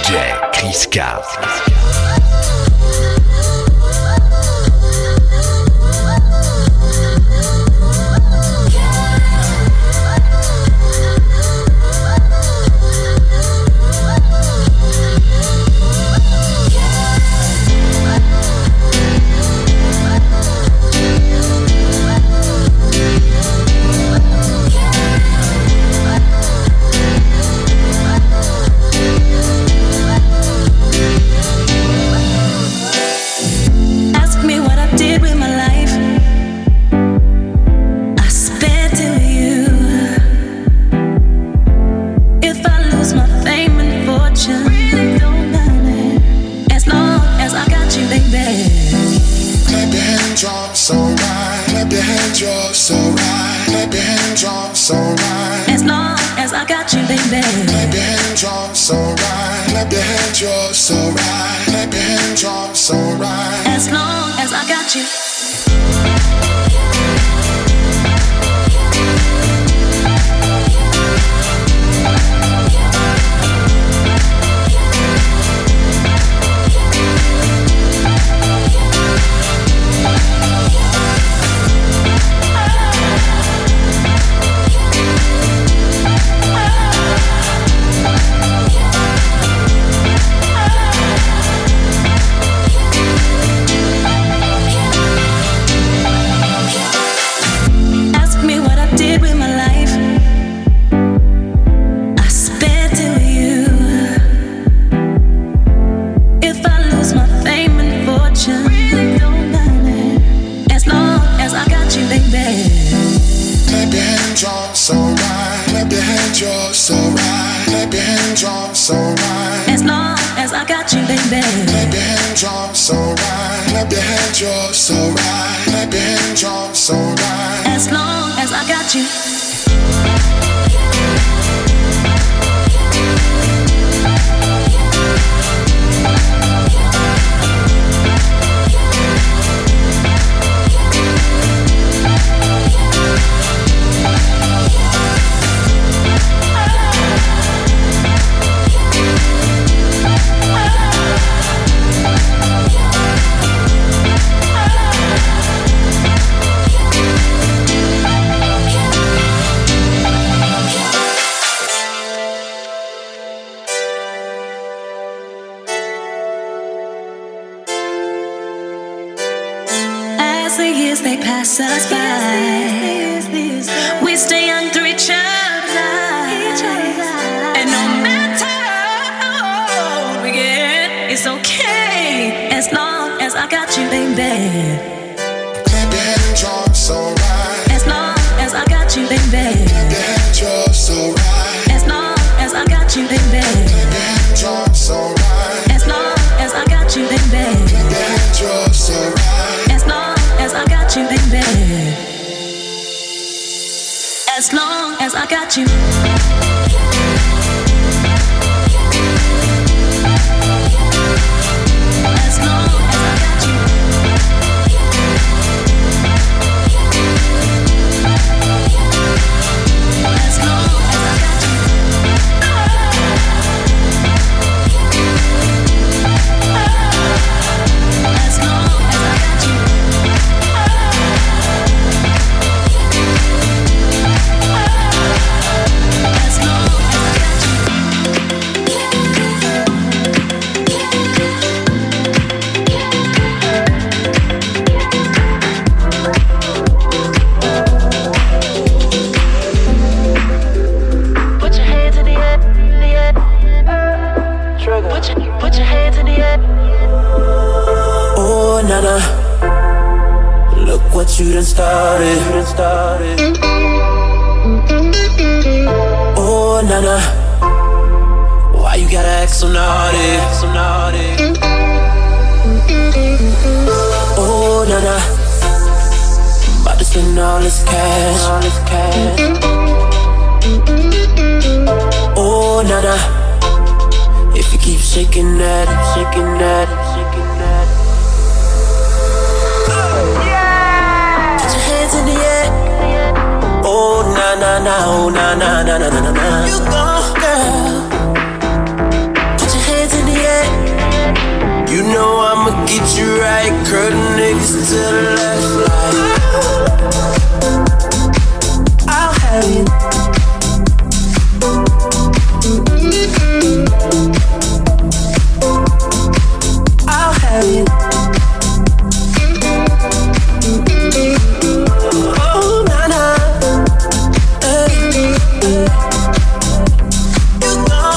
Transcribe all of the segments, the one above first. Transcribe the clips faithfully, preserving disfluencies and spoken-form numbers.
J Chris Card. You done started. You done started. Oh, Nana, why you gotta act so naughty? So naughty. Oh, Nana, I'm about to spend all this cash. All this cash. Oh, Nana, if you keep shaking that, shaking that, shaking that. In the air. Oh na na na, oh na na na na na na. You go, girl. Put your hands in to the left, like I'll have you. I'll have you. Oh, na na, hey, hey. You know.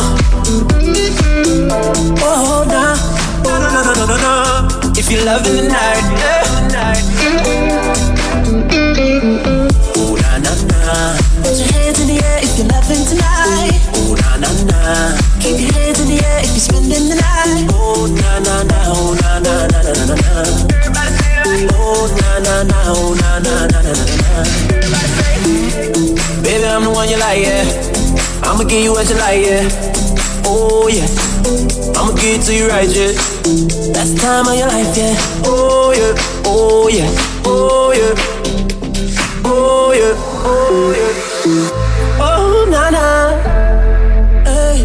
Oh, na, na na na na na na. If you're loving the night, yeah, night. Oh, na na na. Put your hands in the air if you're loving tonight. Oh, na na na. Keep your hands in the air if you're spending the night. Oh, na na na. Oh, na na na na na na. Everybody say like. Oh, na na na. Oh, na na na na na na. Everybody say. Baby, I'm the one you like, yeah. I'ma give you what you like, yeah. Oh yeah. I'ma give it to you right, yeah. That's the time of your life, yeah. Oh yeah. Oh yeah. Oh yeah. Oh yeah. Oh yeah. Oh na na. Hey.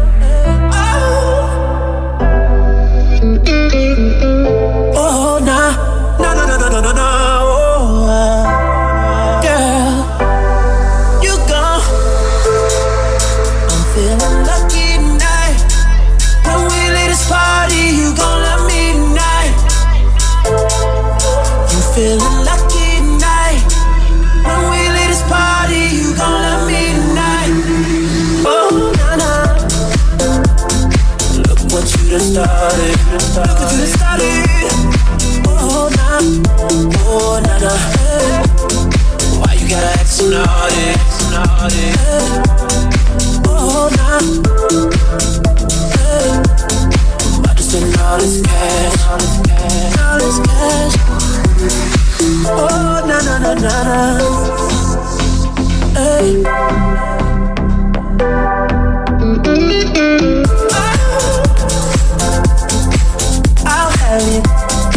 Oh. Oh na. Na na na na na na na. Oh uh. Girl, you gone. I'm feeling lucky tonight. When we leave this party, you gon' love me tonight. You feeling lucky tonight. When we leave this party, you gon' love me tonight. Oh na na. Look what you done started. Look what you done started. Oh na. Oh na na. Why you gotta act so naughty? So naughty. Oh na. I'm about to spend all this cash, all this cash, all this cash. Oh na na na na na. Hey. I'll have you.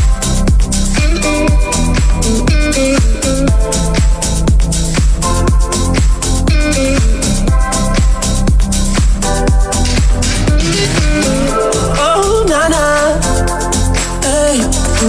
Oh na na. Hey.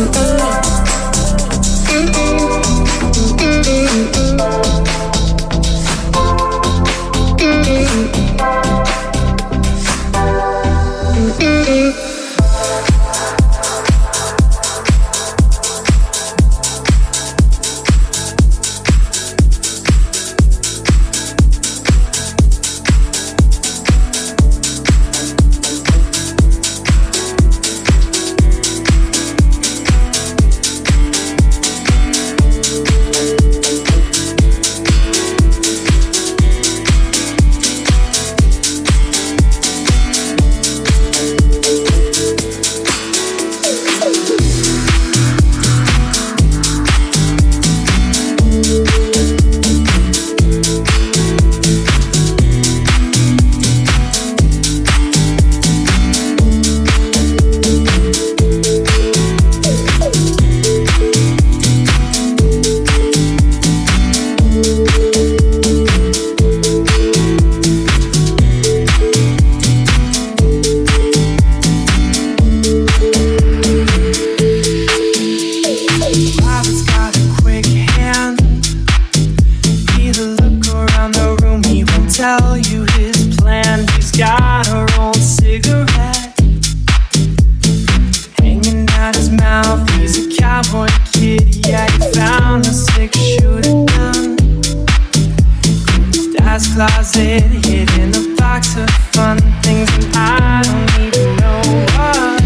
Closet, hid in a box of fun things, and I don't even know what.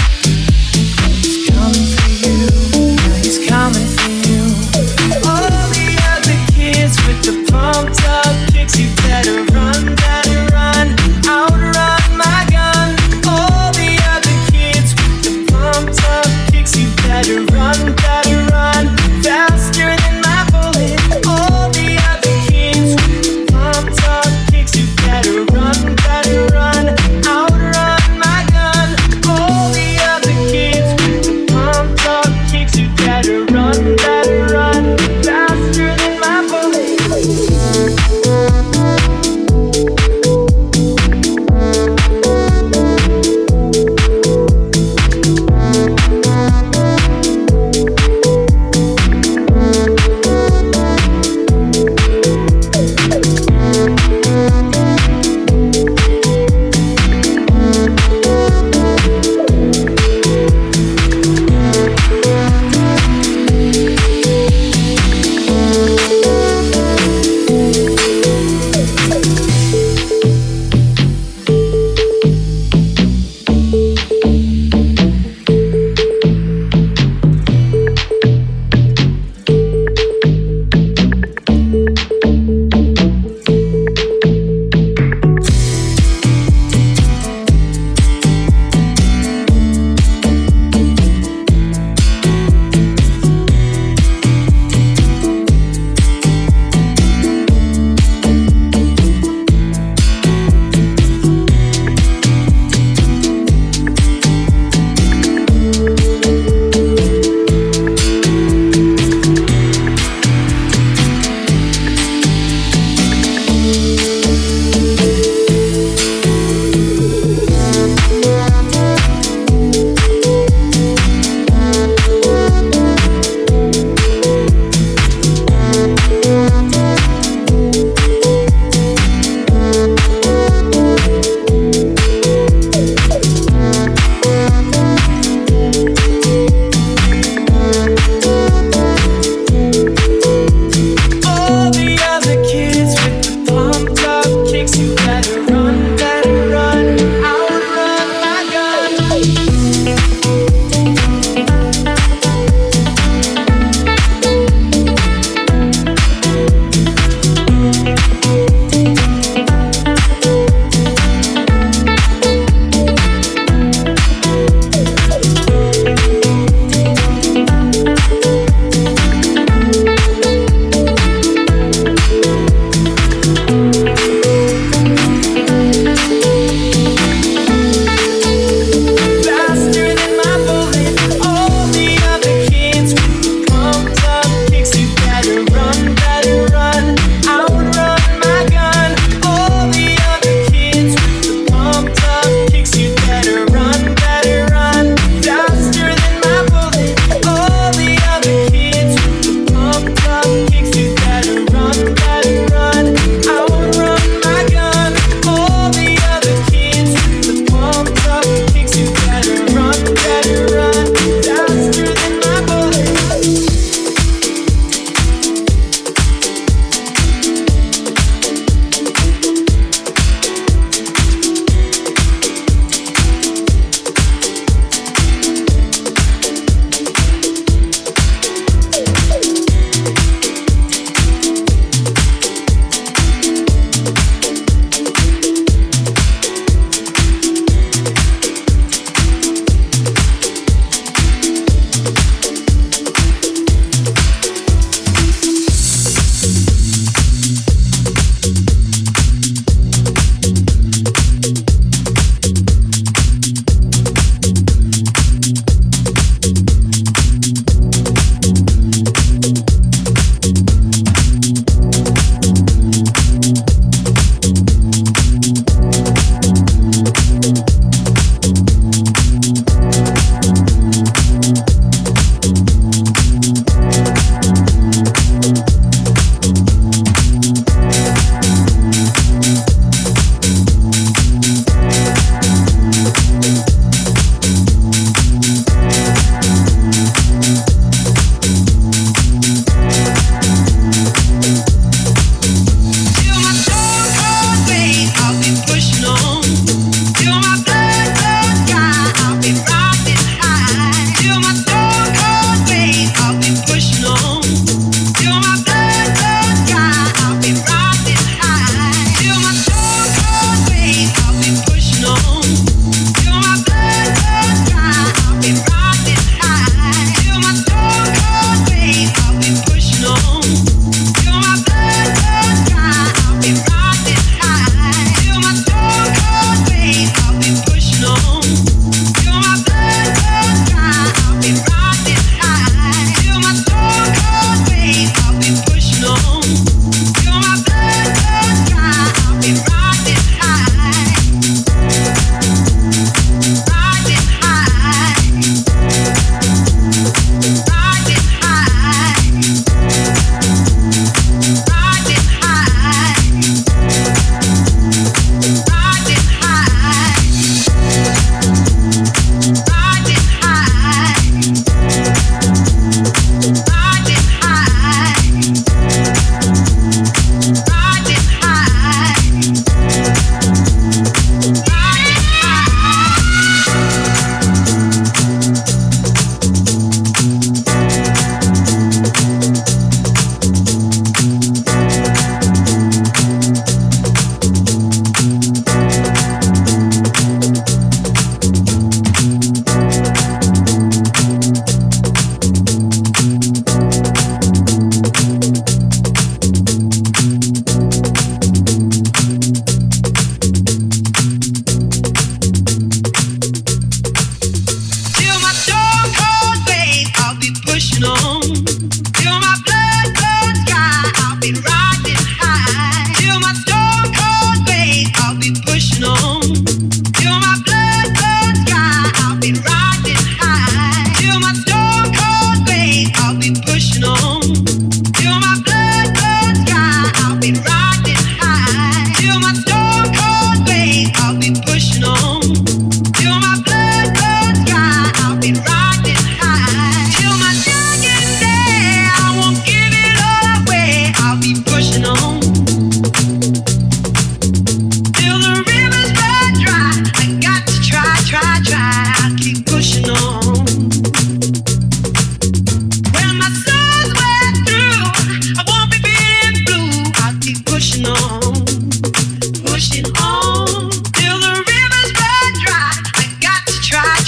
He's coming for you, yeah, he's coming for you. All the other kids with the pumped up kicks, you better run, better run, outrun my gun. All the other kids with the pumped up kicks, you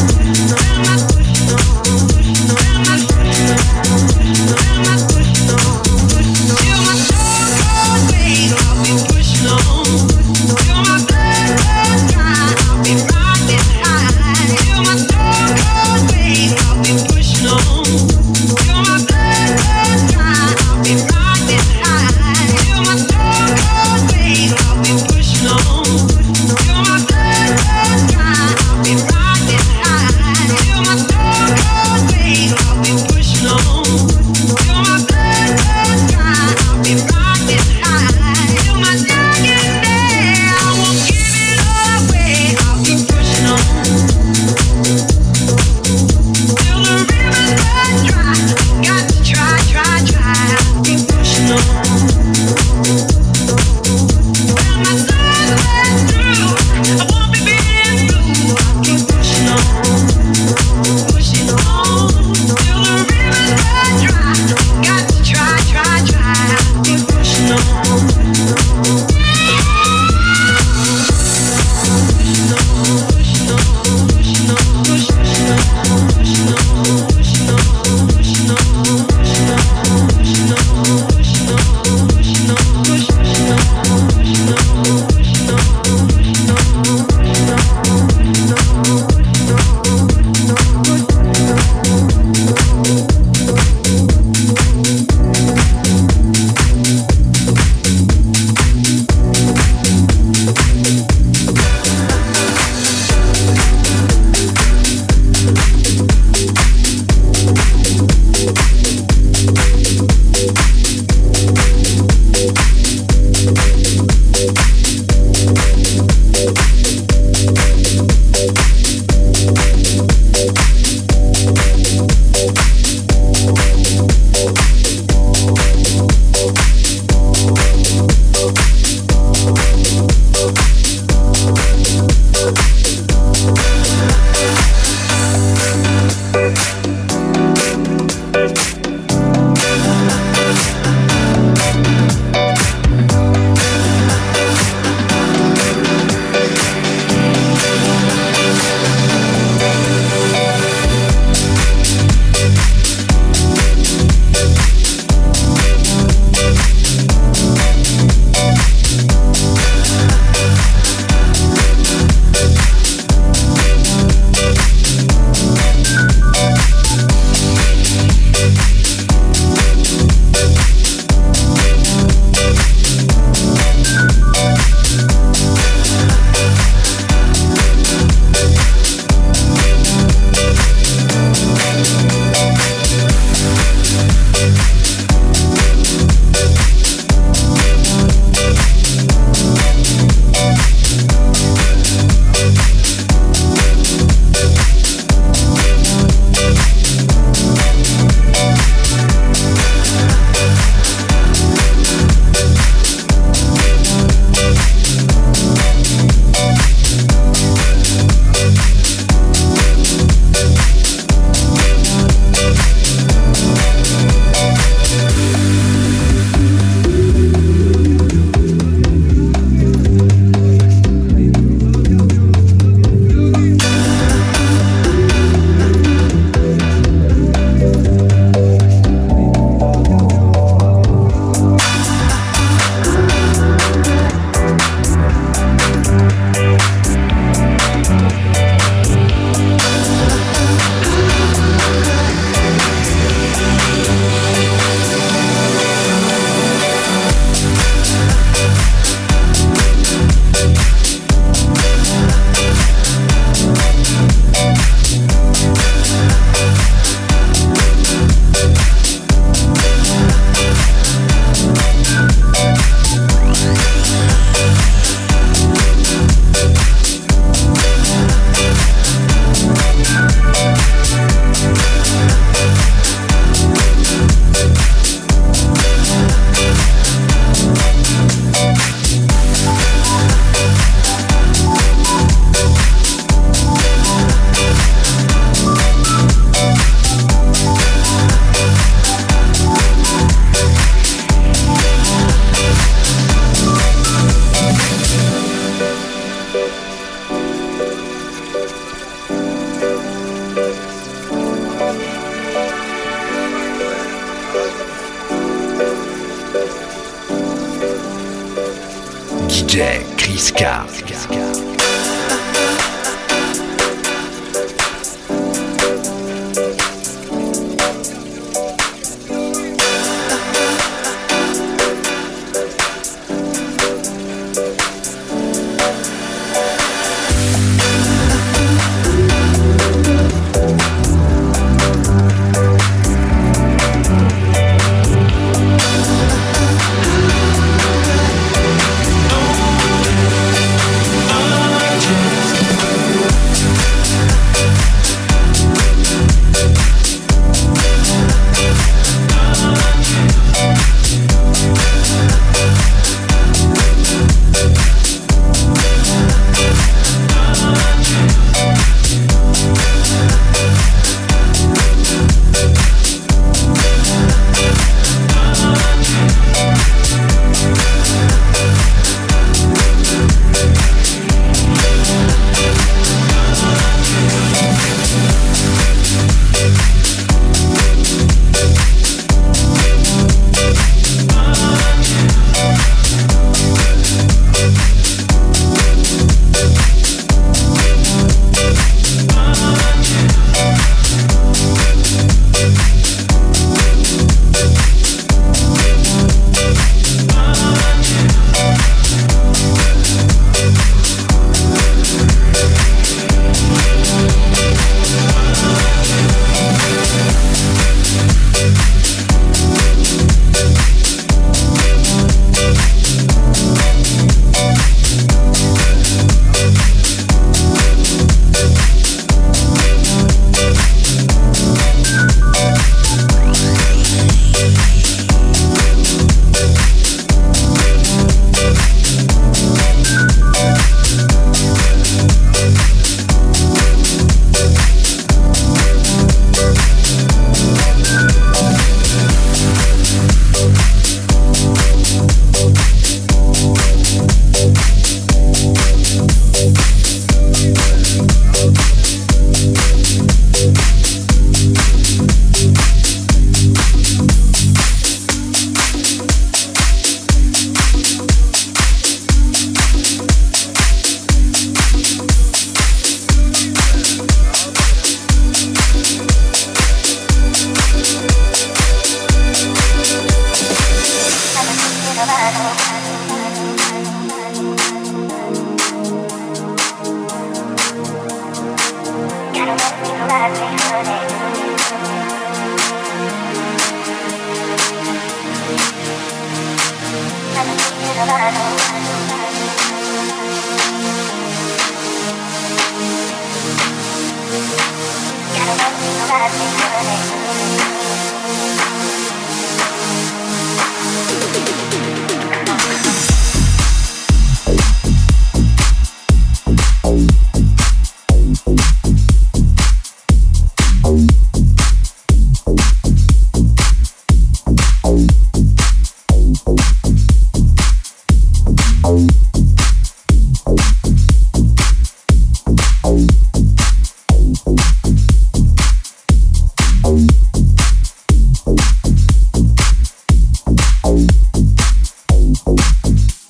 Pushing on, pushing on, pushing on, pushing on. Giscard.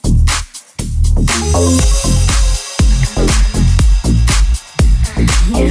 Yeah.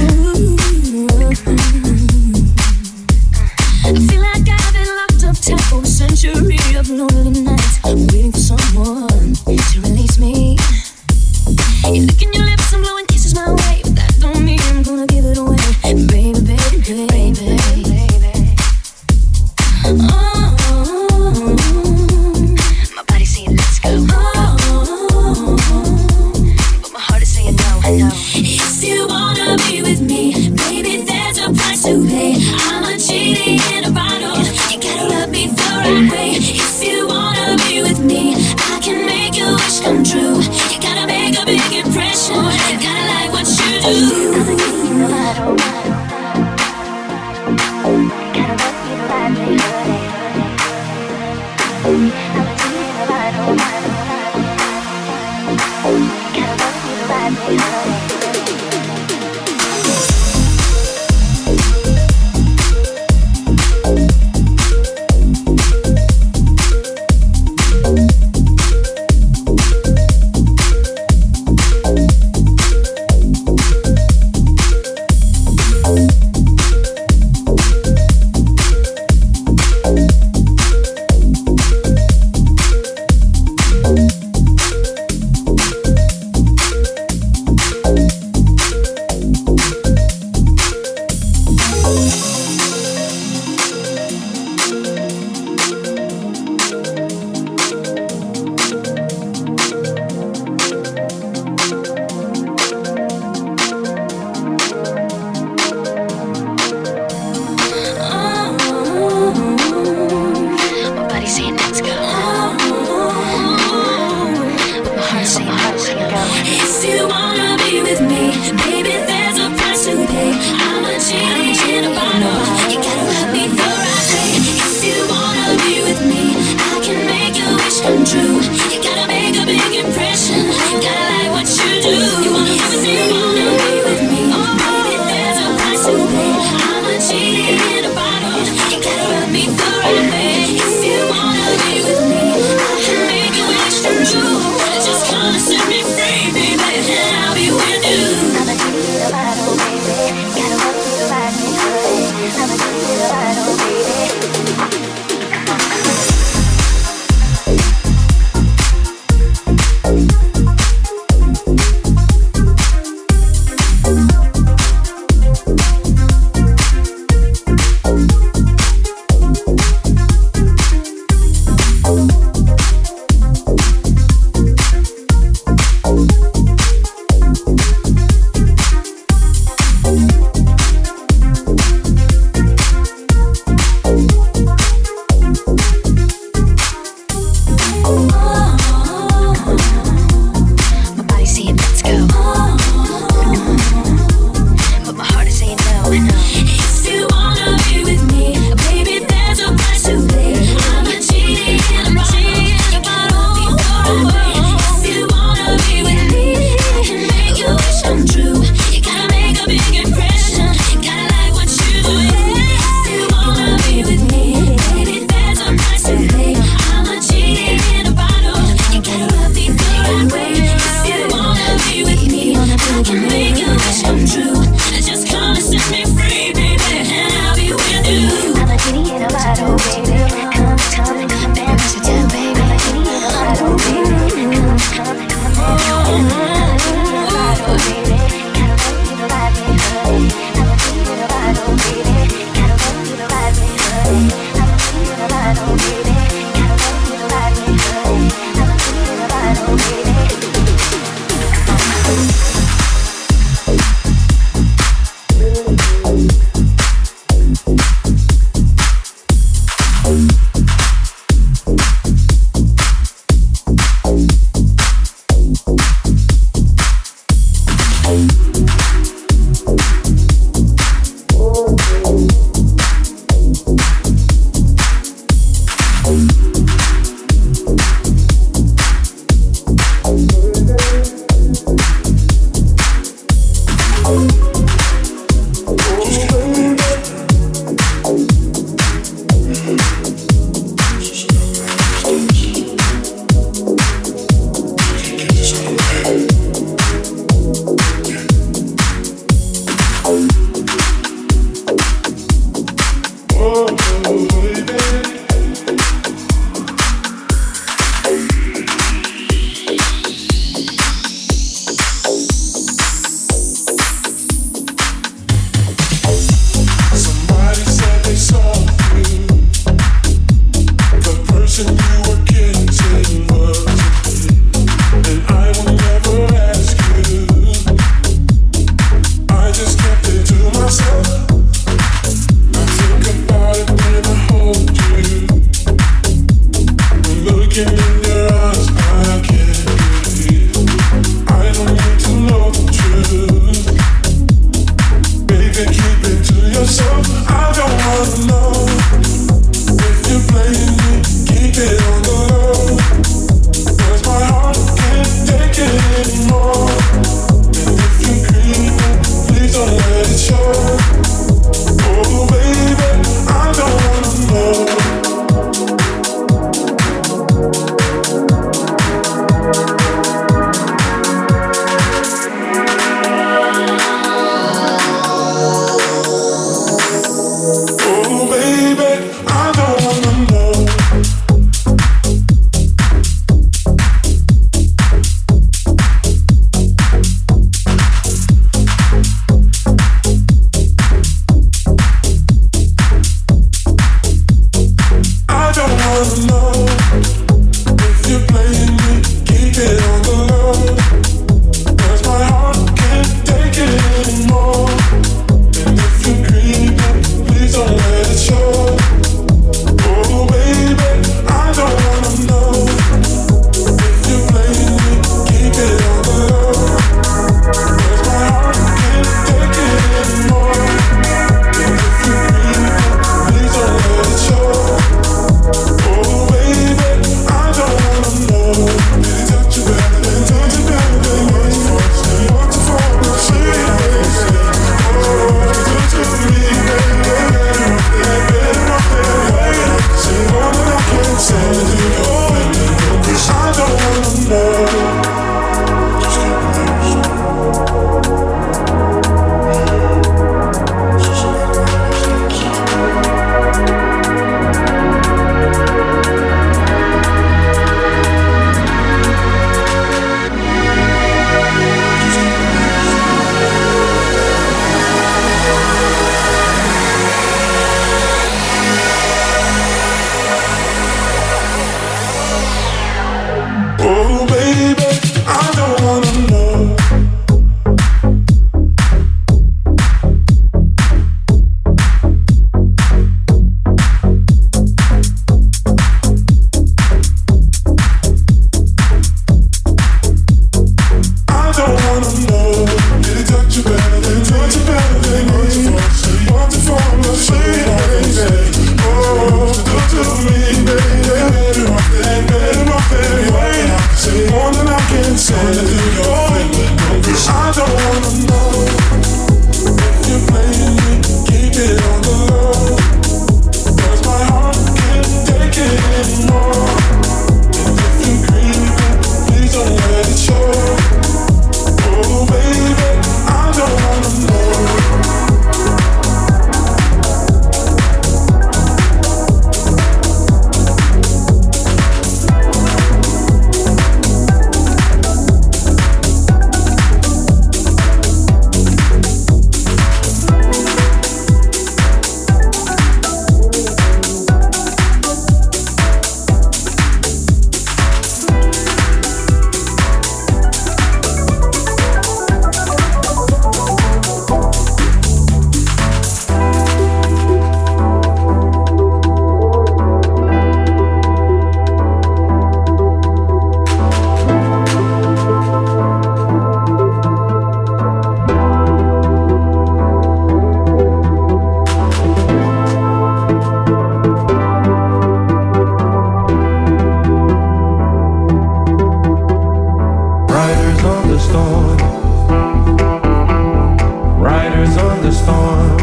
the storm.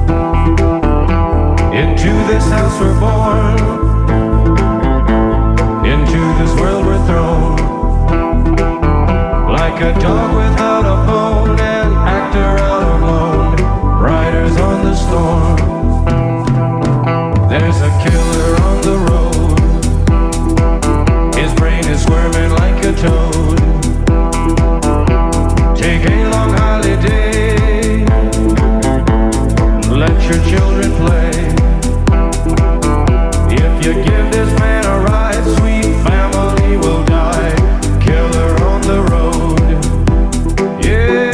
Into this house we're born. Into this world we're thrown. Like a dog without a bone, an actor out alone, riders on the storm. There's a killer on the road. His brain is squirming like a toad. Take a long holiday. Let your children play. If you give this man a ride, sweet family will die. Killer on the road. Yeah.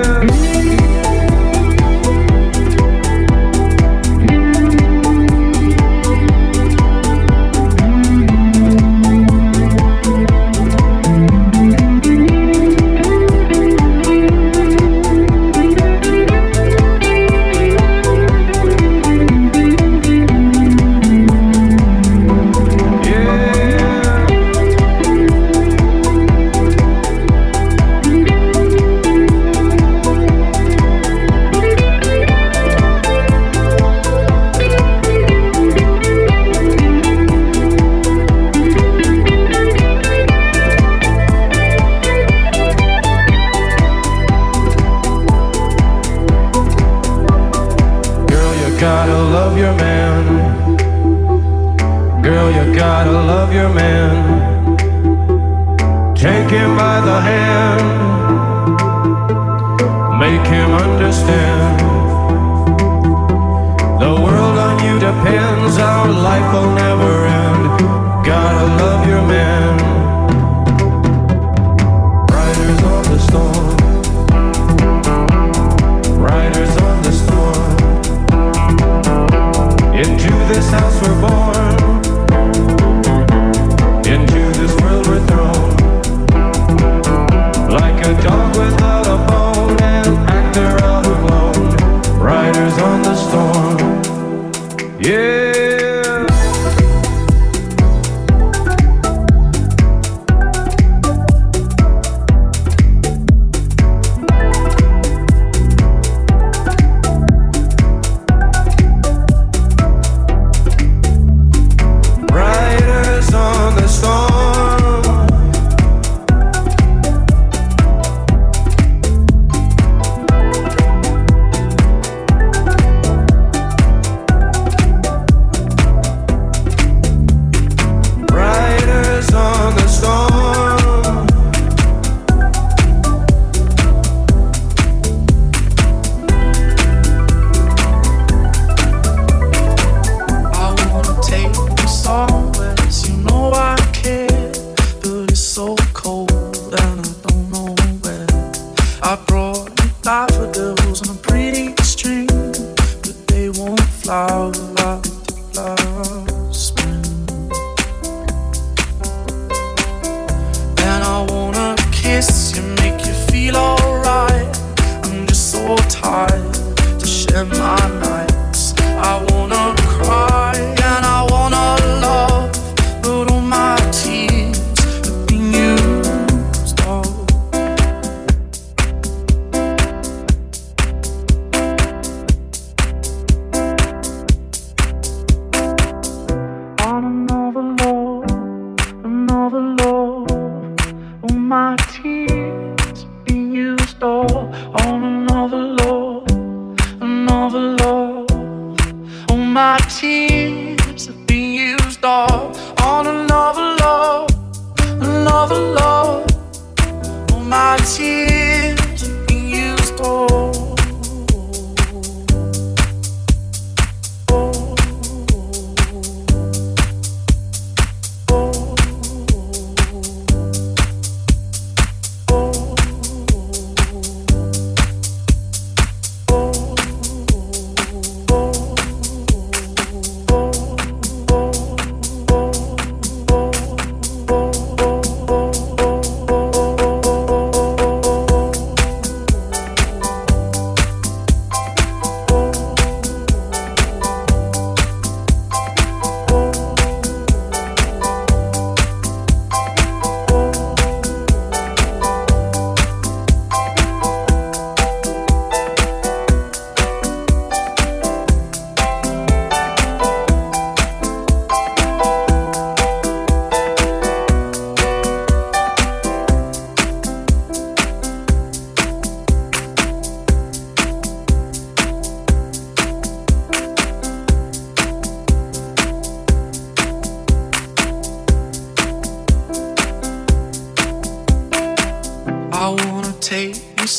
Gotta love your man. Girl, you gotta love your man. Take him by the hand. Make him understand. The world on you depends. Our life will never end. Gotta love your man. Riders on the storm. Riders on the storm. Into this house we're born. Into this world we're thrown. Like a dog without a bone, an actor out alone, riders on the storm. Yeah.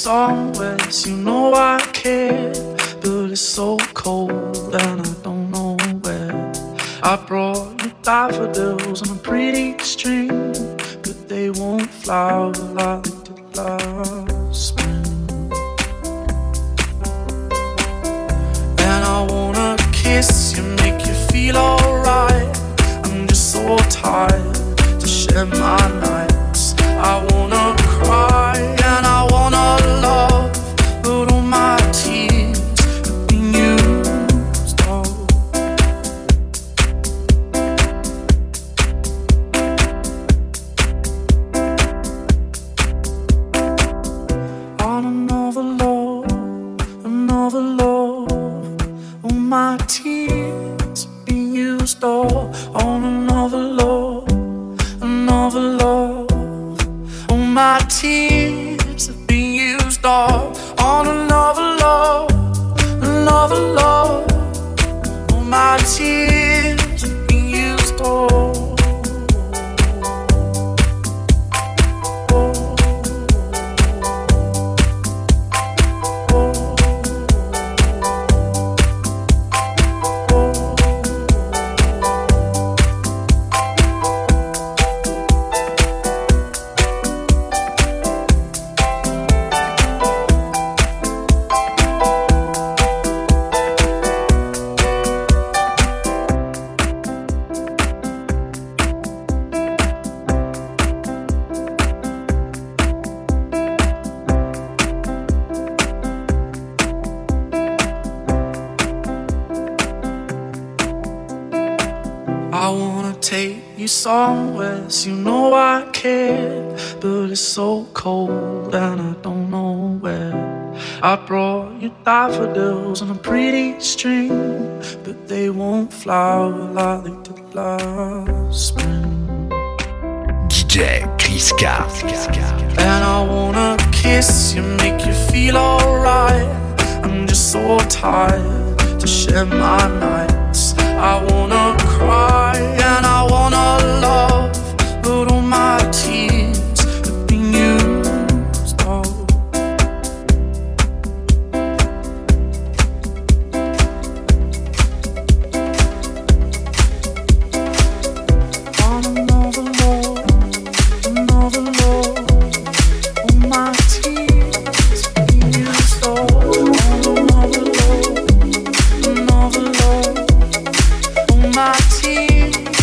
somewhere, so you know I care. But it's so cold and I don't know where. I brought you daffodils on a pretty string, but they won't flower like they did last spring. And I wanna kiss you, make you feel alright. I'm just so tired to share my nights. I wanna cry and I wanna love, but all my tears have been used up. On another love, another love, all my tears have been used up. On another love, another love, all my tears have been used up. On another love, another love, all my tears have been used up. I wanna take you somewhere, so you know I care. But it's so cold and I don't know where. I brought you daffodils on a pretty string, but they won't flower like they did last spring. D J Chris K. And I wanna kiss you, make you feel alright. I'm just so tired to share my nights. I wanna cry and I wanna love, but all my tears have been used up. On another love, another love, all my tears have been used up. On another love, another love, my tears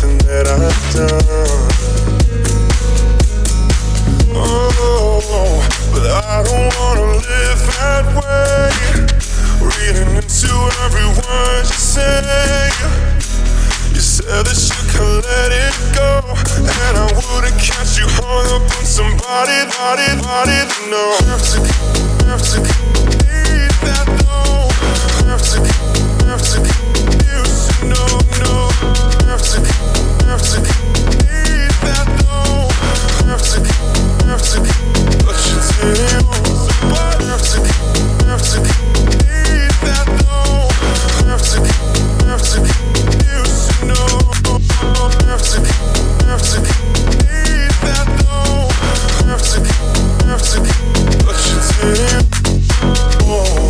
something that I've done. Oh, but I don't wanna live that way. Reading into every word you say. You said that you could let it go, and I wouldn't catch you hung up on somebody, body, body. No, have to, have to need that though. Have to, have to, you should know, no. Have to, have to need that though. Have to, have to, but you tell me what. Have to, have to need that though. Have to, have to, you should know. Have to, have to need that though. Have to, have to, but you tell me. Oh.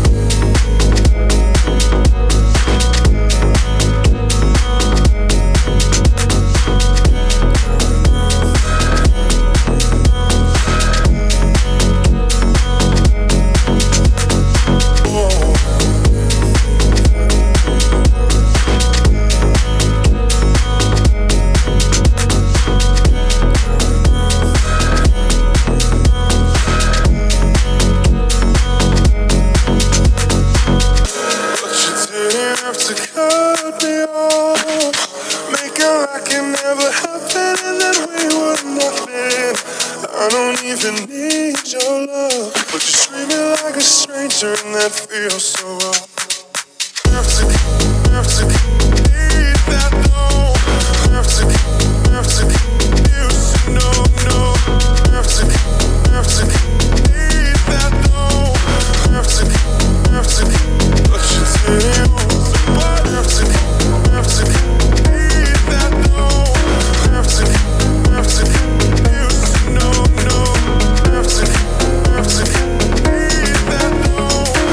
And that feels so wrong. Have to, have to need that though. Have to, have to, you should know, no. Have to, have to need that though. Have to, have to, but you tell me what. Have to, have to need that though. Have to, have to, you should know, no. Have to, have to need that though.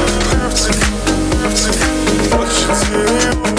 What you tell me?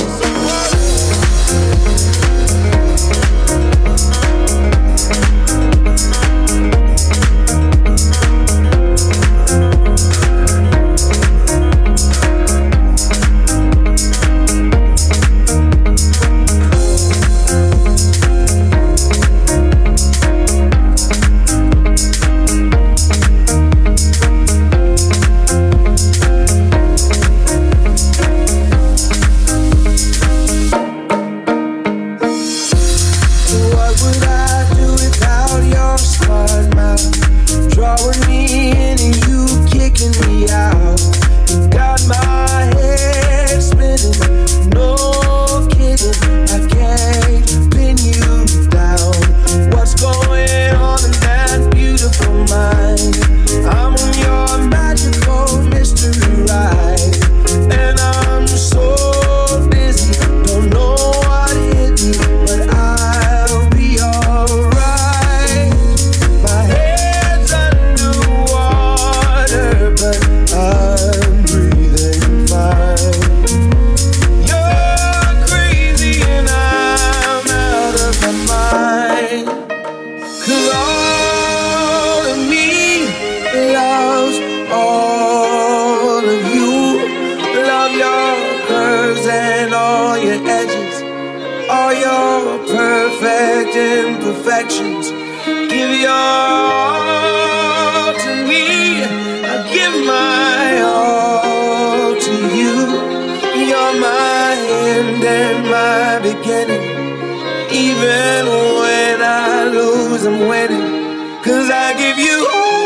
Imperfections, give your all to me. I give my all to you. You're my end and my beginning. Even when I lose, I'm winning. 'Cause I give you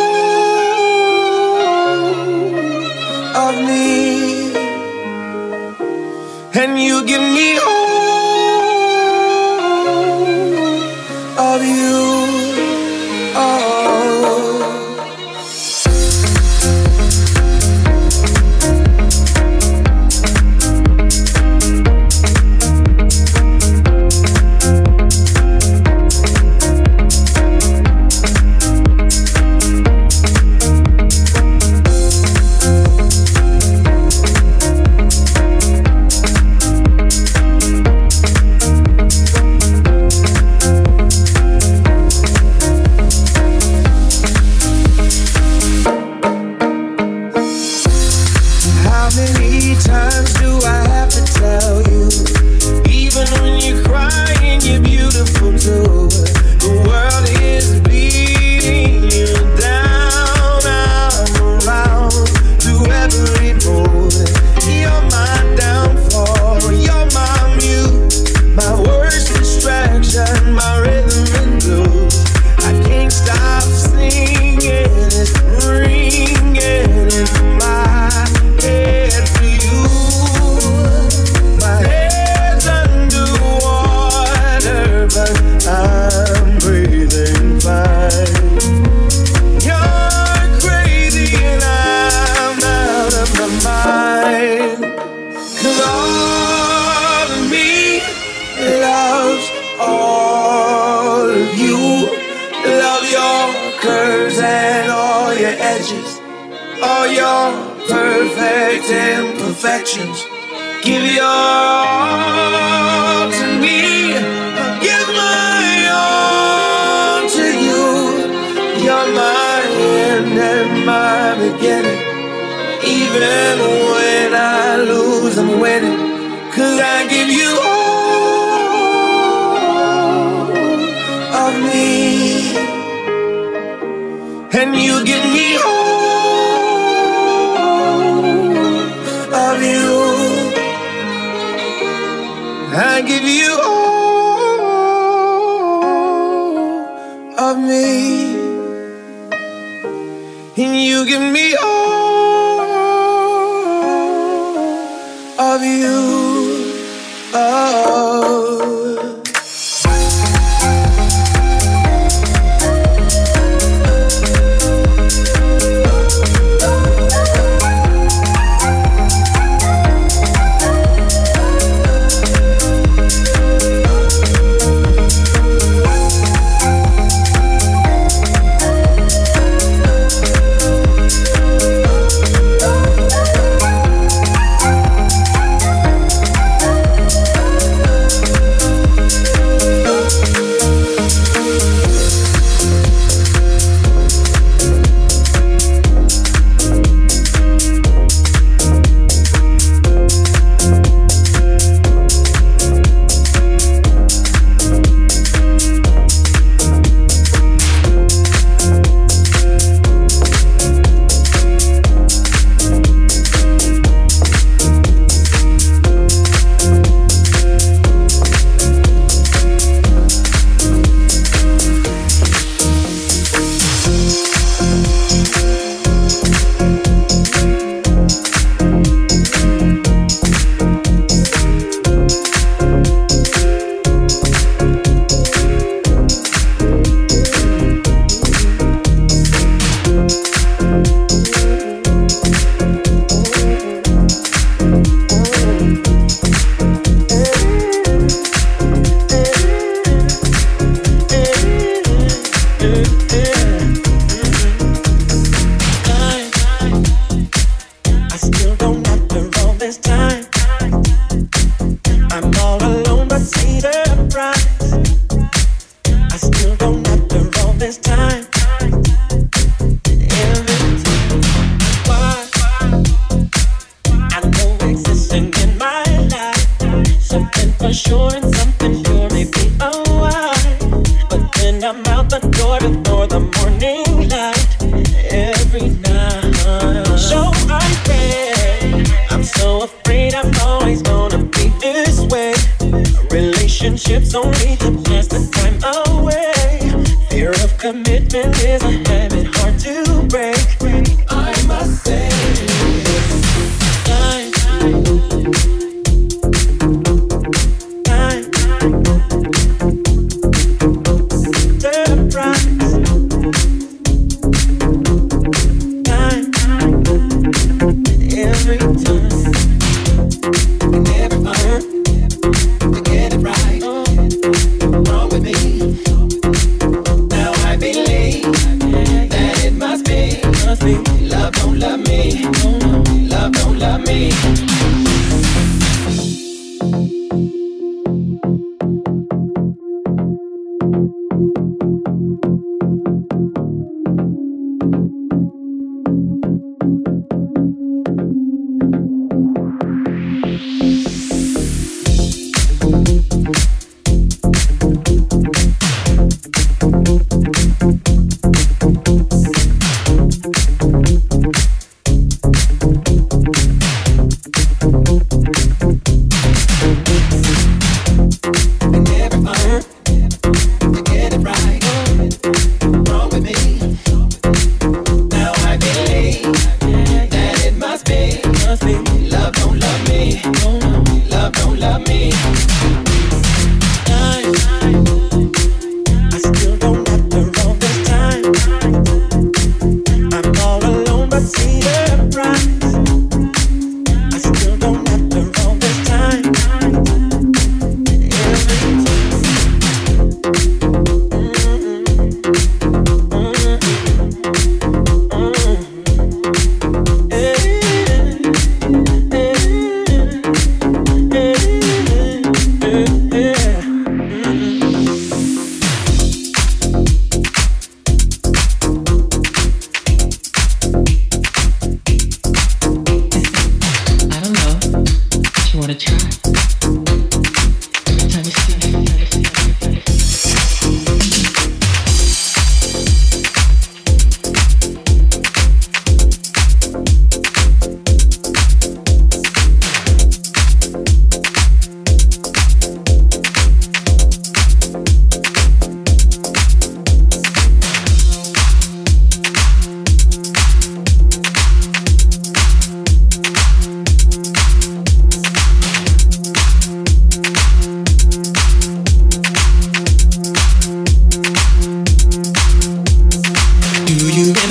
all of me, and you give me all of you. Oh. all of you. Love your curves and all your edges, all your perfect imperfections. Give your all to me, I'll give my all to you. You're my end and my beginning. Even when I lose, I'm winning. 'Cause I give you all of me, and you give me all of you. I give you all of me, and you give me all of you. Oh. Love don't love me.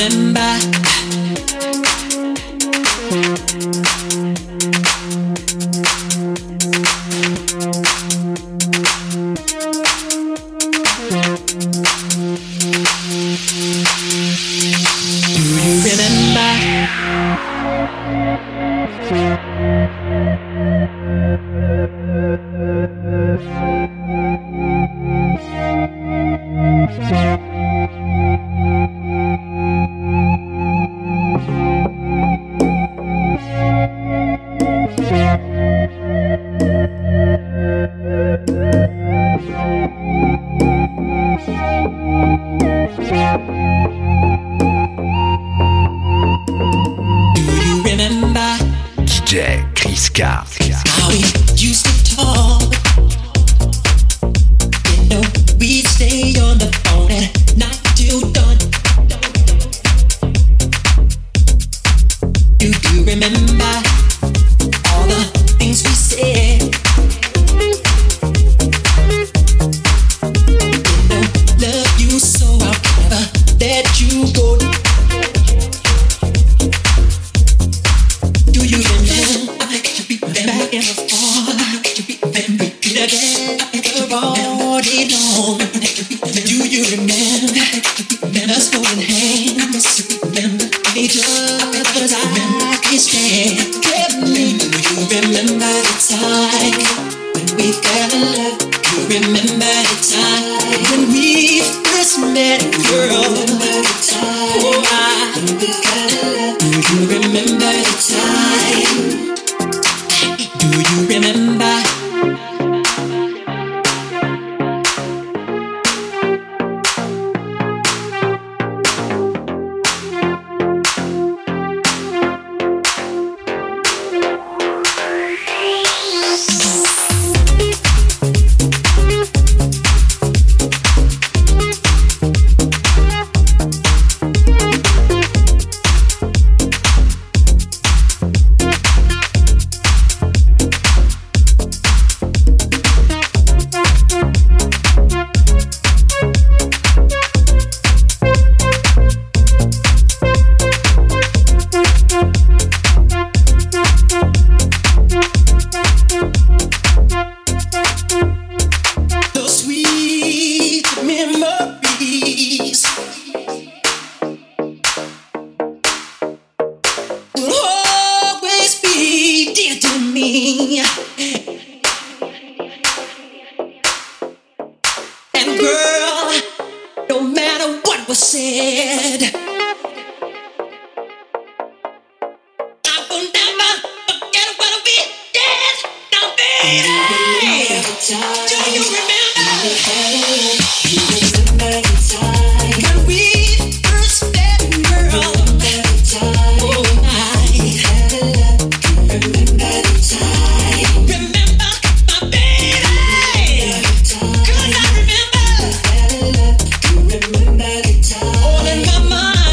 All in my mind.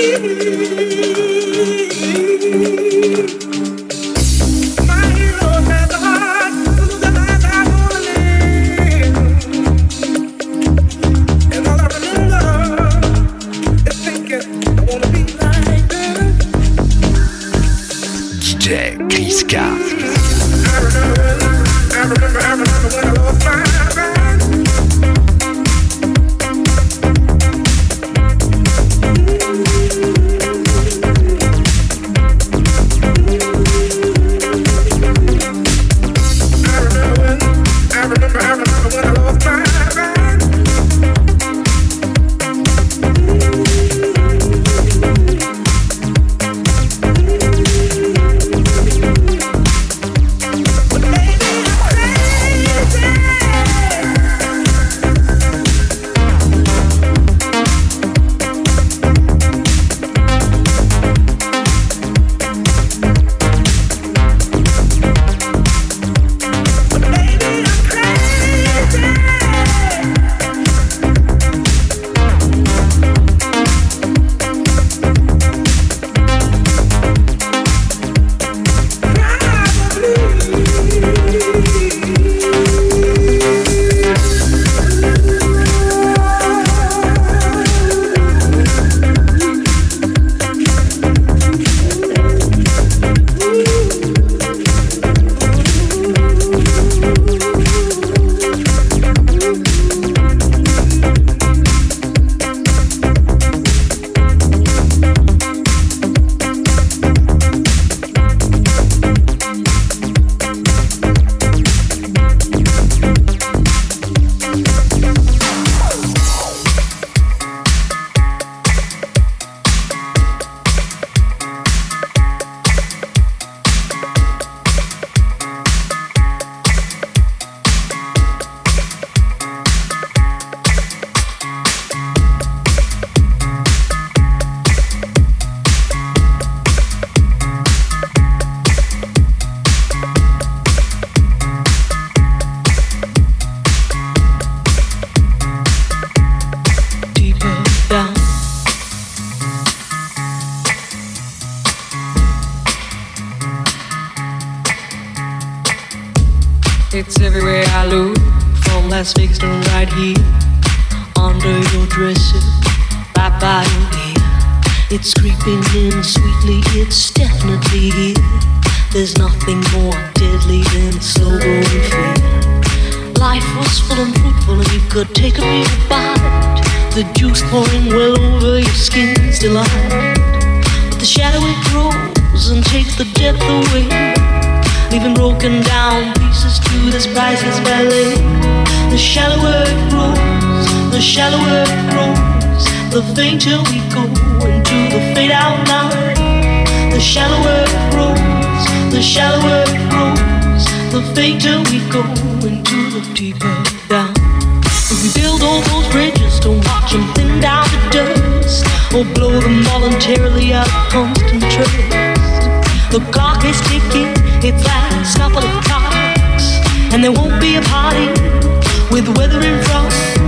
It's everywhere I look, from Las Vegas to right here, under your dresser, right by your ear. It's creeping in sweetly, it's definitely here. There's nothing more deadly than slow growing fear. Life was full and fruitful and you could take a real bite. The juice pouring well over your skin's delight. But the shadow it grows and takes the depth away, leaving broken down pieces to this priceless ballet. The shallower it grows, the shallower it grows, the fainter we go into the fade out line. The shallower it grows, the shallower it grows, the fainter we go into the deeper down. If we build all those bridges, don't watch them thin down to dust, or blow them voluntarily out of constant trust. The clock is ticking, it's last couple of clocks, and there won't be a party with weather in front.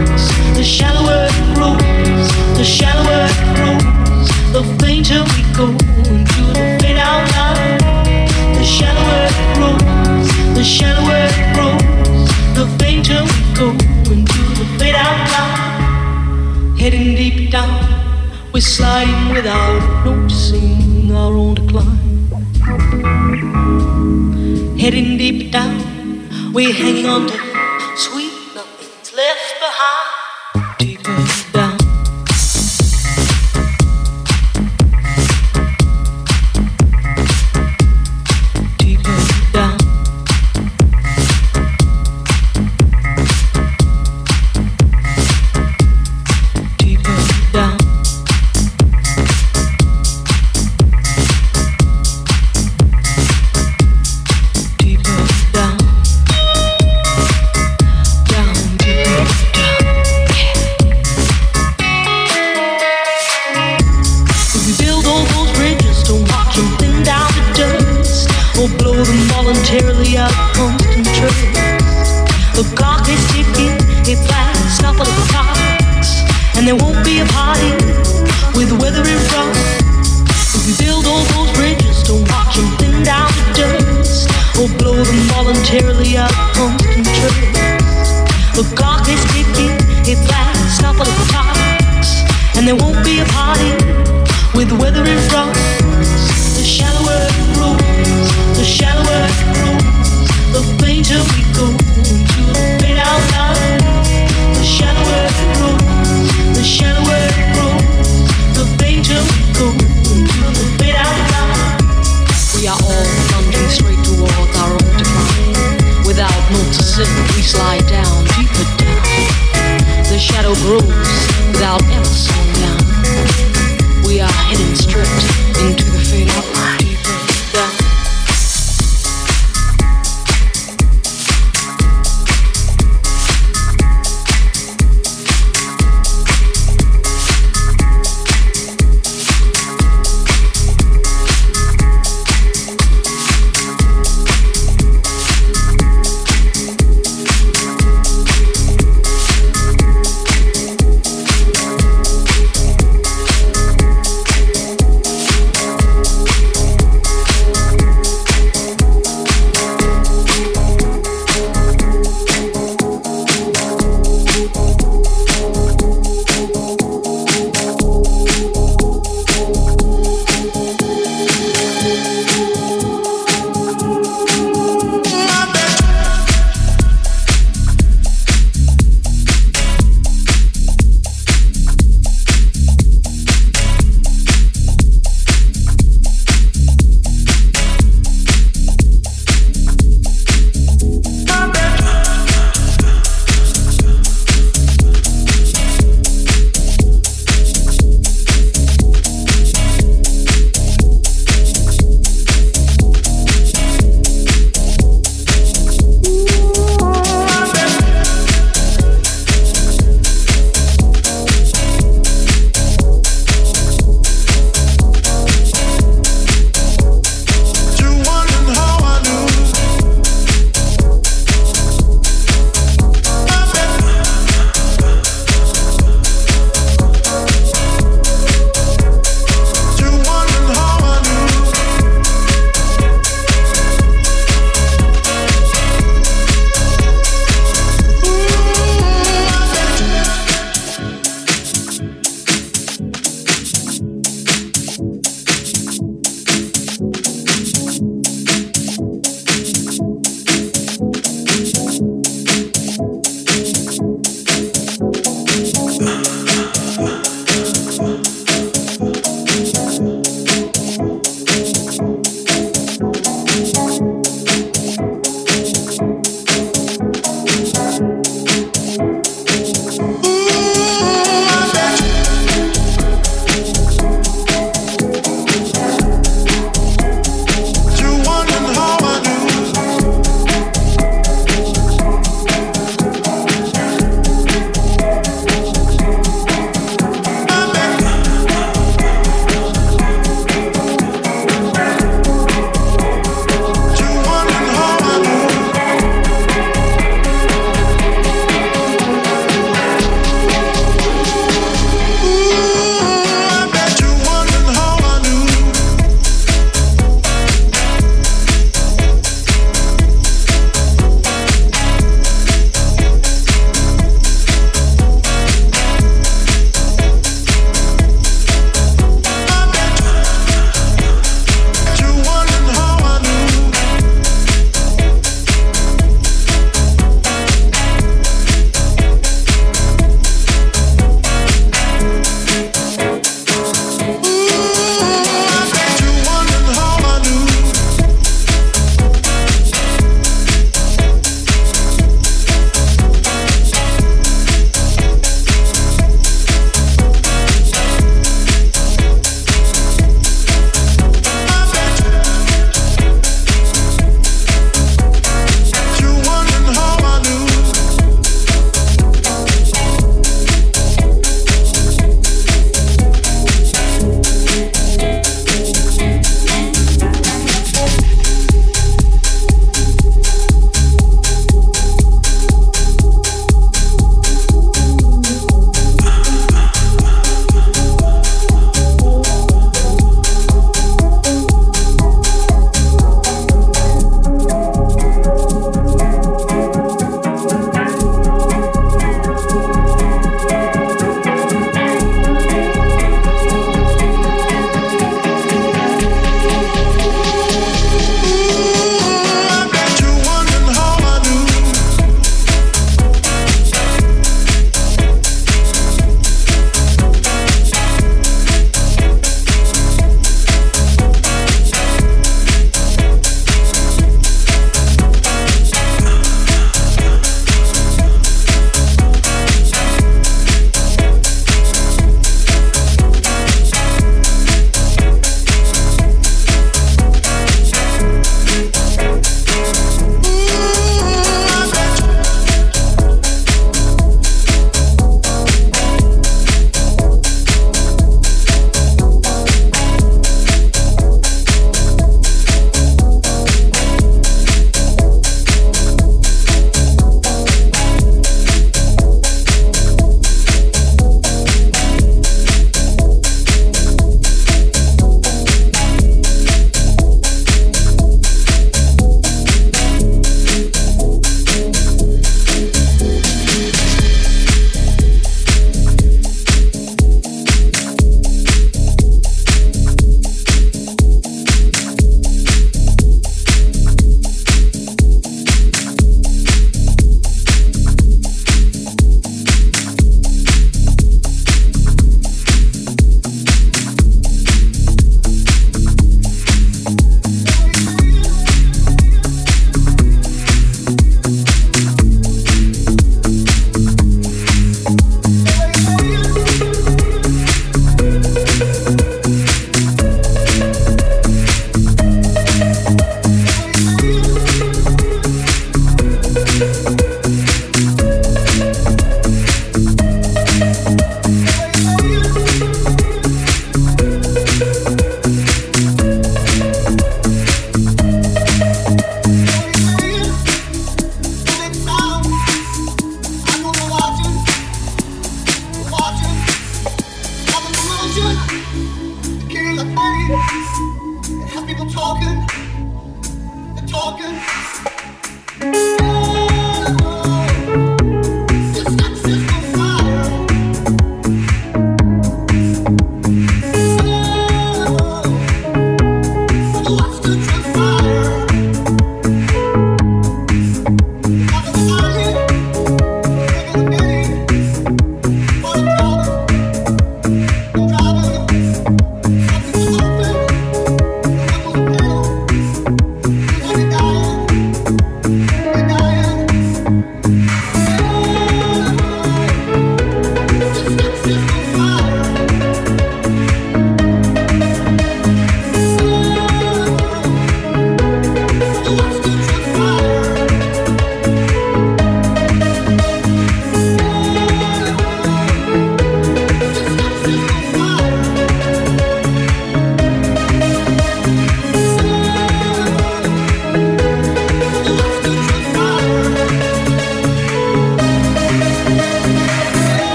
The shallower it grows, the shallower it grows, the fainter we go into the fade out line. The shallower it grows, the shallower it grows, the fainter we go into the fade out line. Heading deep down, we're sliding without noticing our own decline. Heading deep down, we're hanging on to sweet nothing's left behind. Deeper down. Deeper down. Deeper down. involuntarily out of control. The clock is ticking, it lasts a couple of clocks, and there won't be a party with weather in front. The shallower it grows, the shallower it grows, the fainter we go to the fade out line. The shallower it grows, the shallower it grows, the fainter we go to the fade out line. We are all plunging straight towards our own decline. Without noticing, we slide down, deeper down. The shadow grows without ever slowing down. We are heading straight into the fade out line. Deeper down.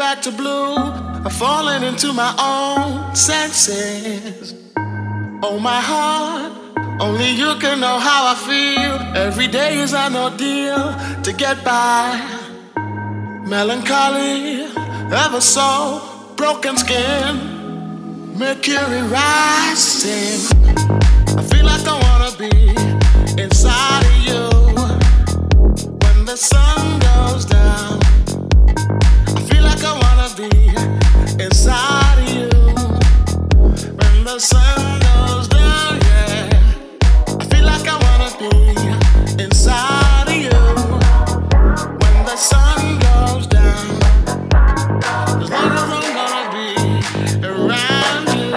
back to blue. I'm falling into my own senses. Oh, my heart, only you can know how I feel. Every day is an ordeal to get by. Melancholy, ever so broken skin, mercury rising. I feel like I wanna be inside of you when the sun goes down. I feel like I wanna be inside of you when the sun goes down, yeah. I feel like I wanna be inside of you when the sun goes down. As long as I'm gonna be around you.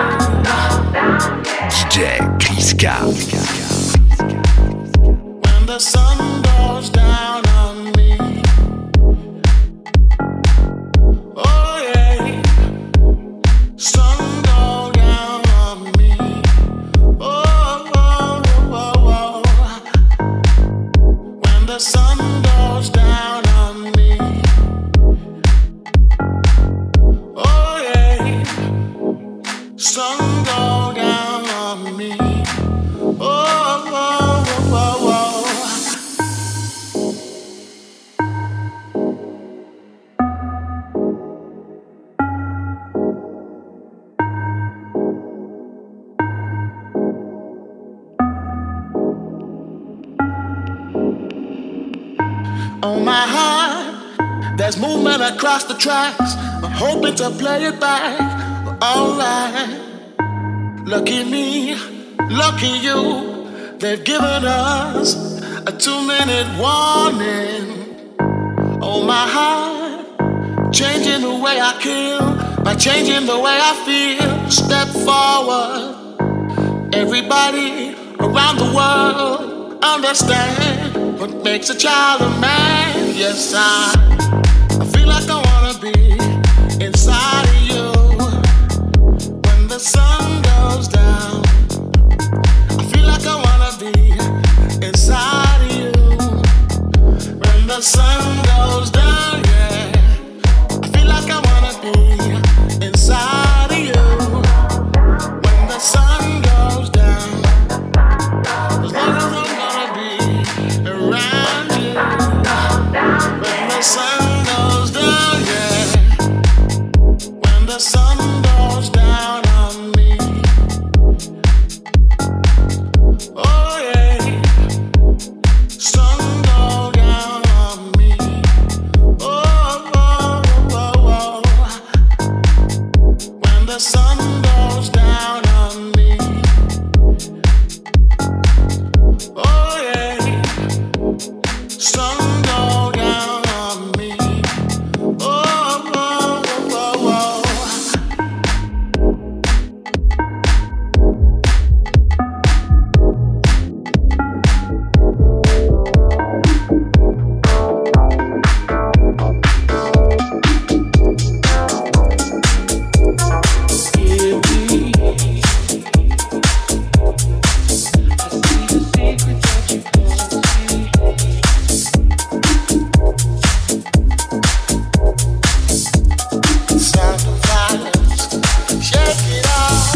D J Chris When the sun goes down on me. Oh yeah. Sun go down on me. Oh, oh, oh, oh. When the sun goes down on me. Oh yeah. Sun go down on me. Oh, oh, oh, oh, oh. On my heart, there's movement across the tracks. I'm hoping to play it back. Alright. Lucky me, lucky you. They've given us a two-minute warning. Oh, my heart, changing the way I kill by changing the way I feel. Step forward. Everybody around the world understand what makes a child a man. Yes, I, I feel like I wanna be inside of you when the sun goes down. I feel like I wanna be inside of you when the sun goes down, yeah. I feel like I wanna be inside of you when the sun goes down. As long as I'm gonna be around you when the sun goes down, yeah. When the sun goes down on me. Oh yeah. Sun go down on me. Oh, oh, oh, oh. When the sun goes down on me. Oh yeah. Sun go down on me. Oh, oh, oh, oh. Sound of violence, shake it off.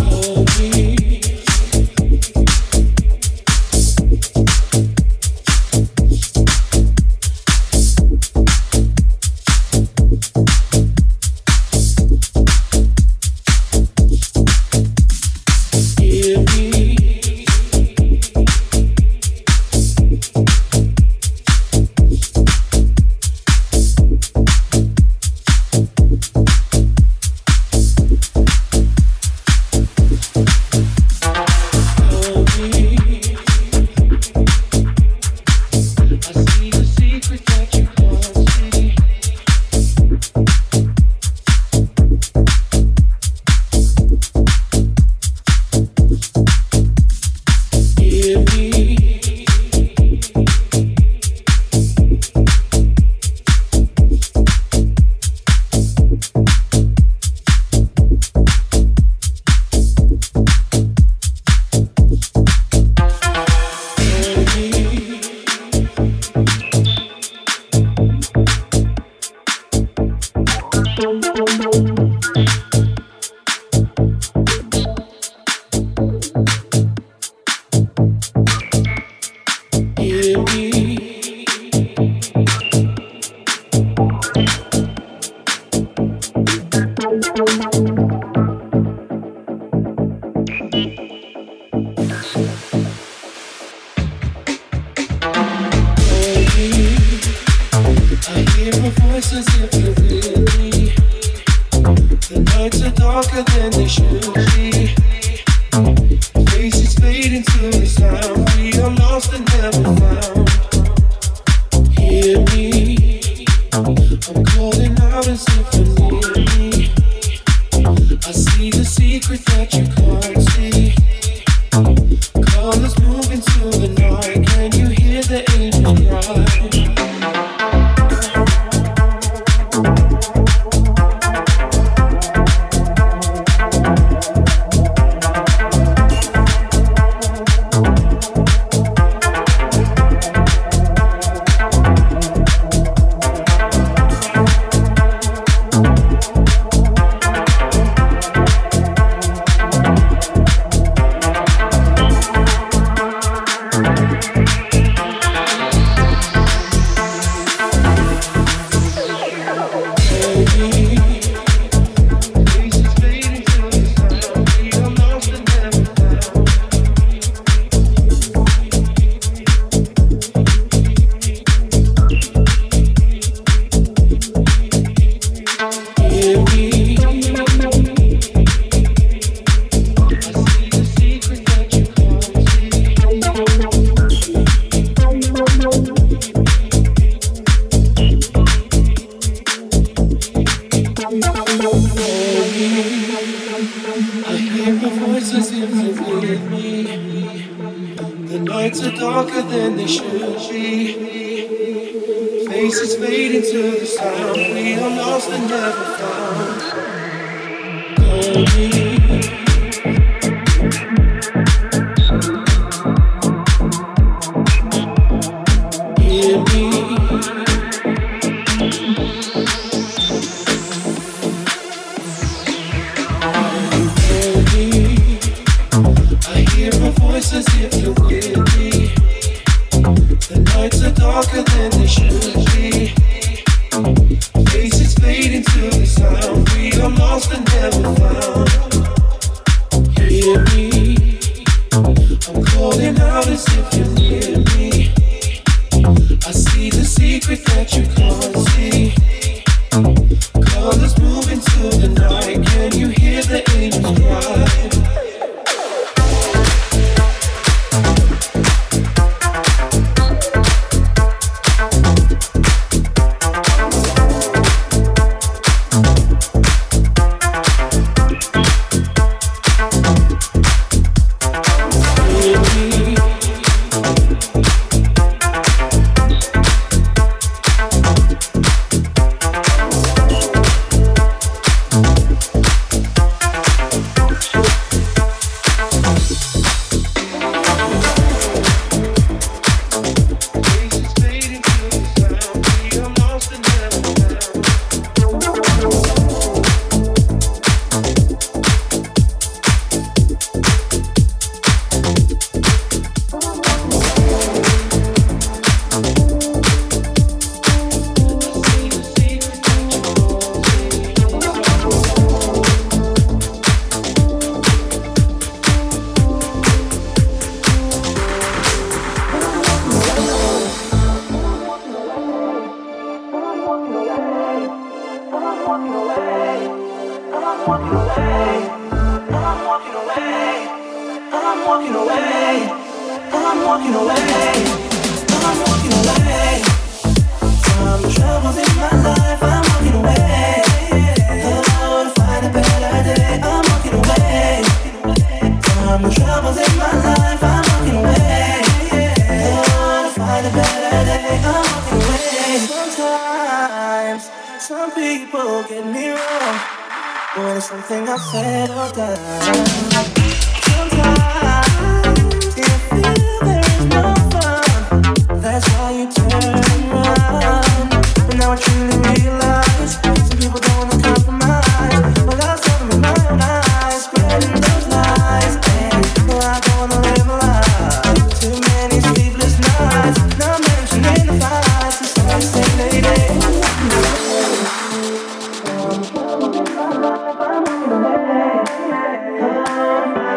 I'm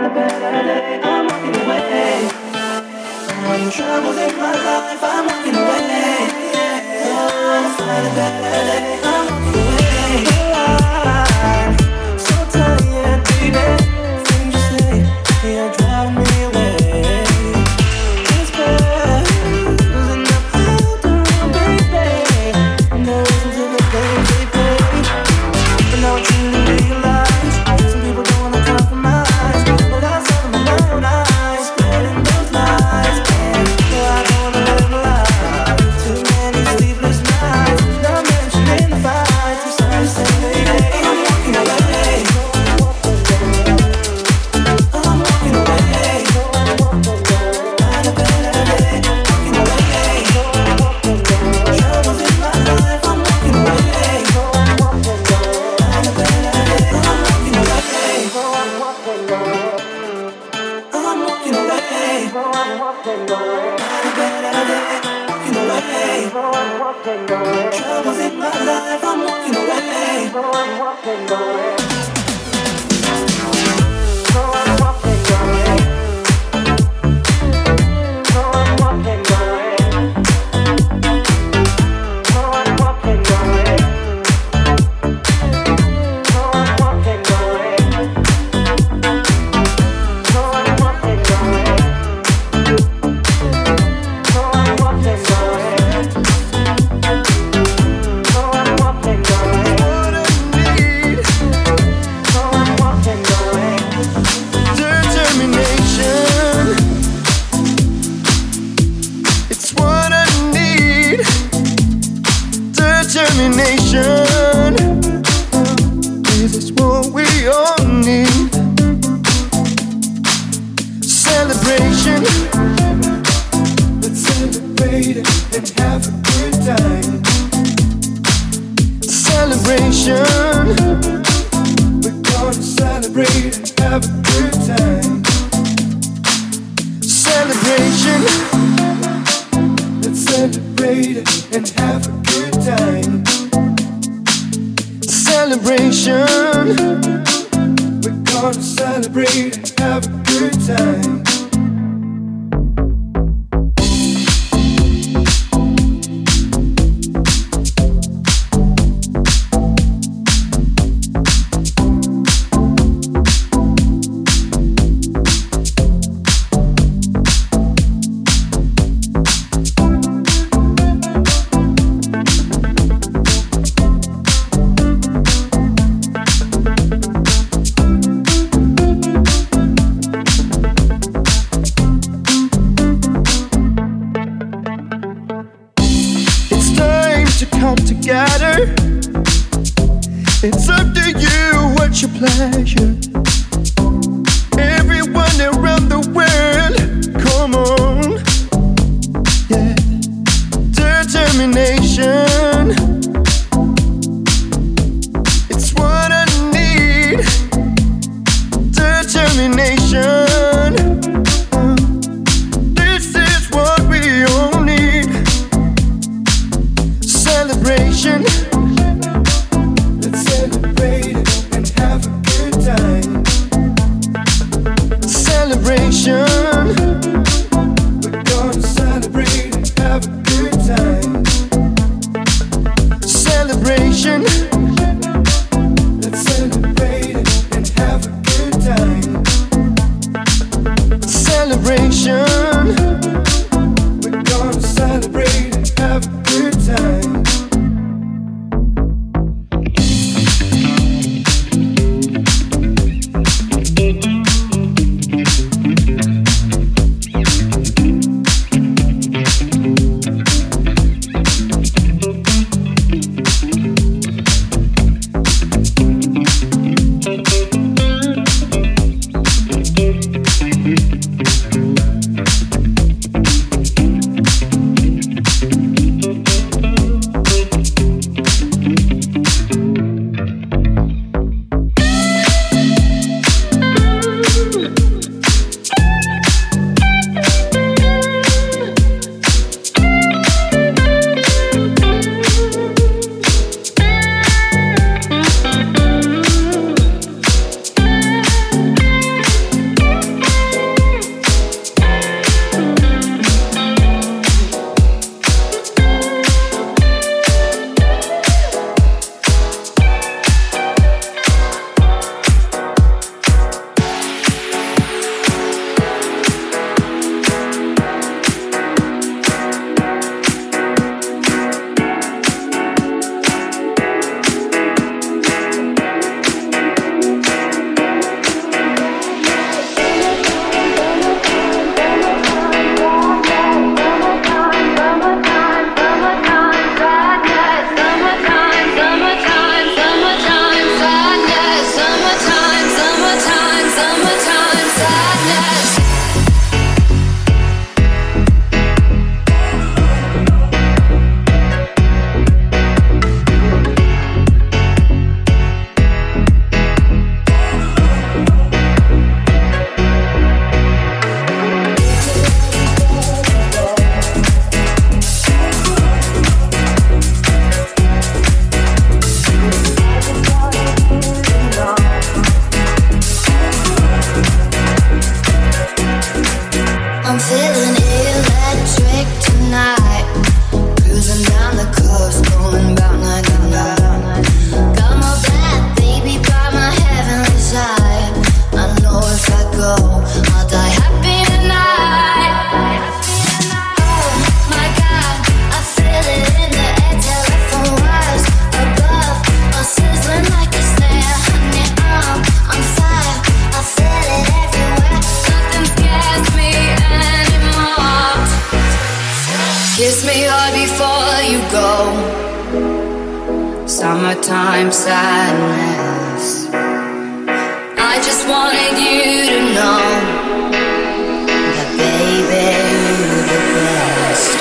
Summertime sadness. I just wanted you to know that, baby, you're the best.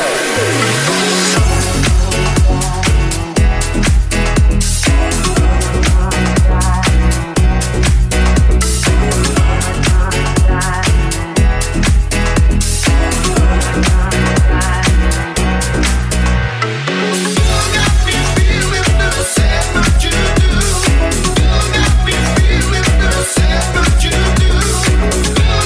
You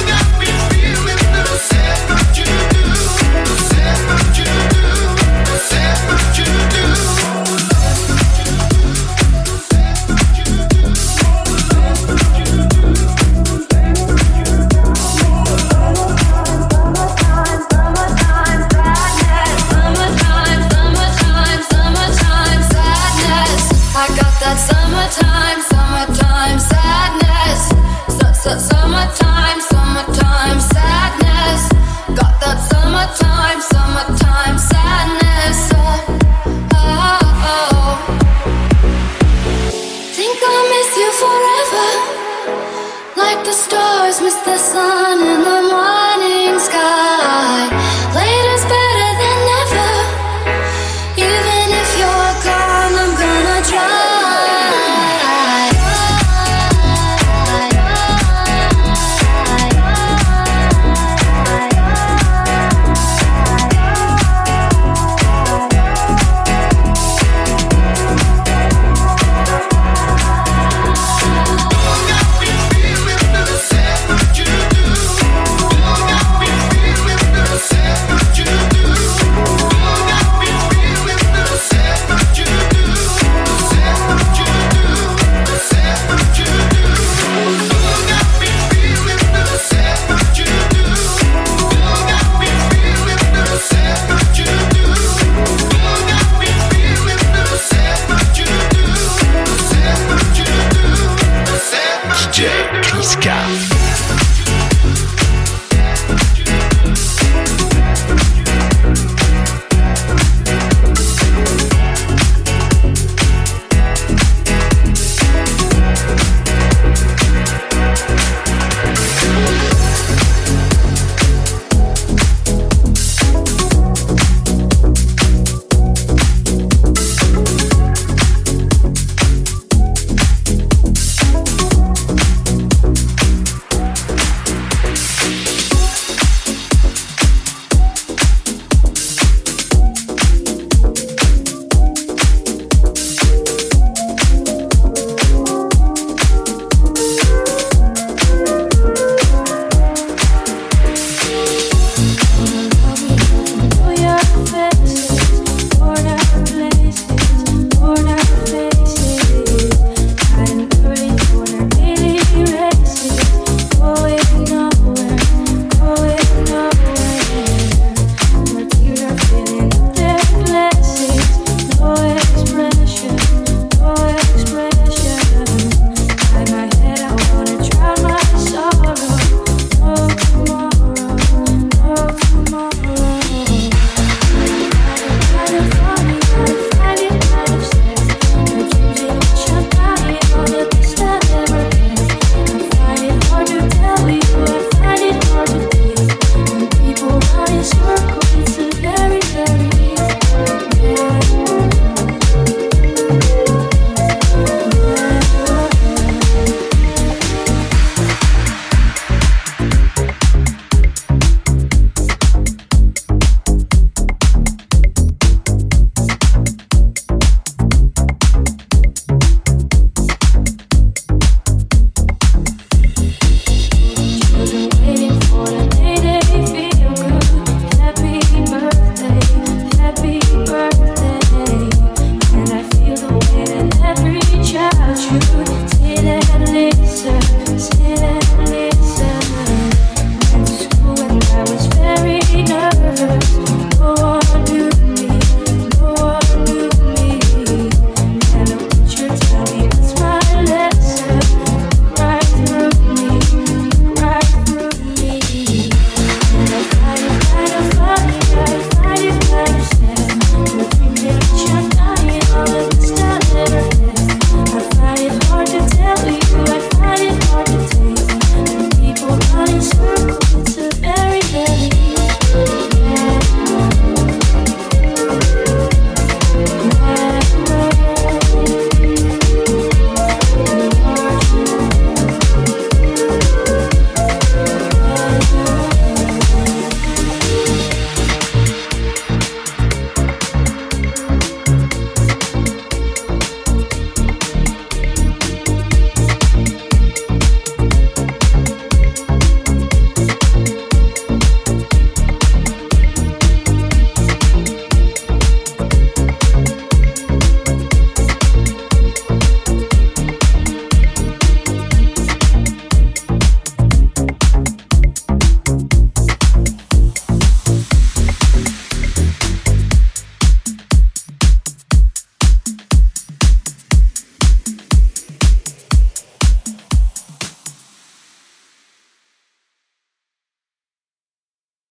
love.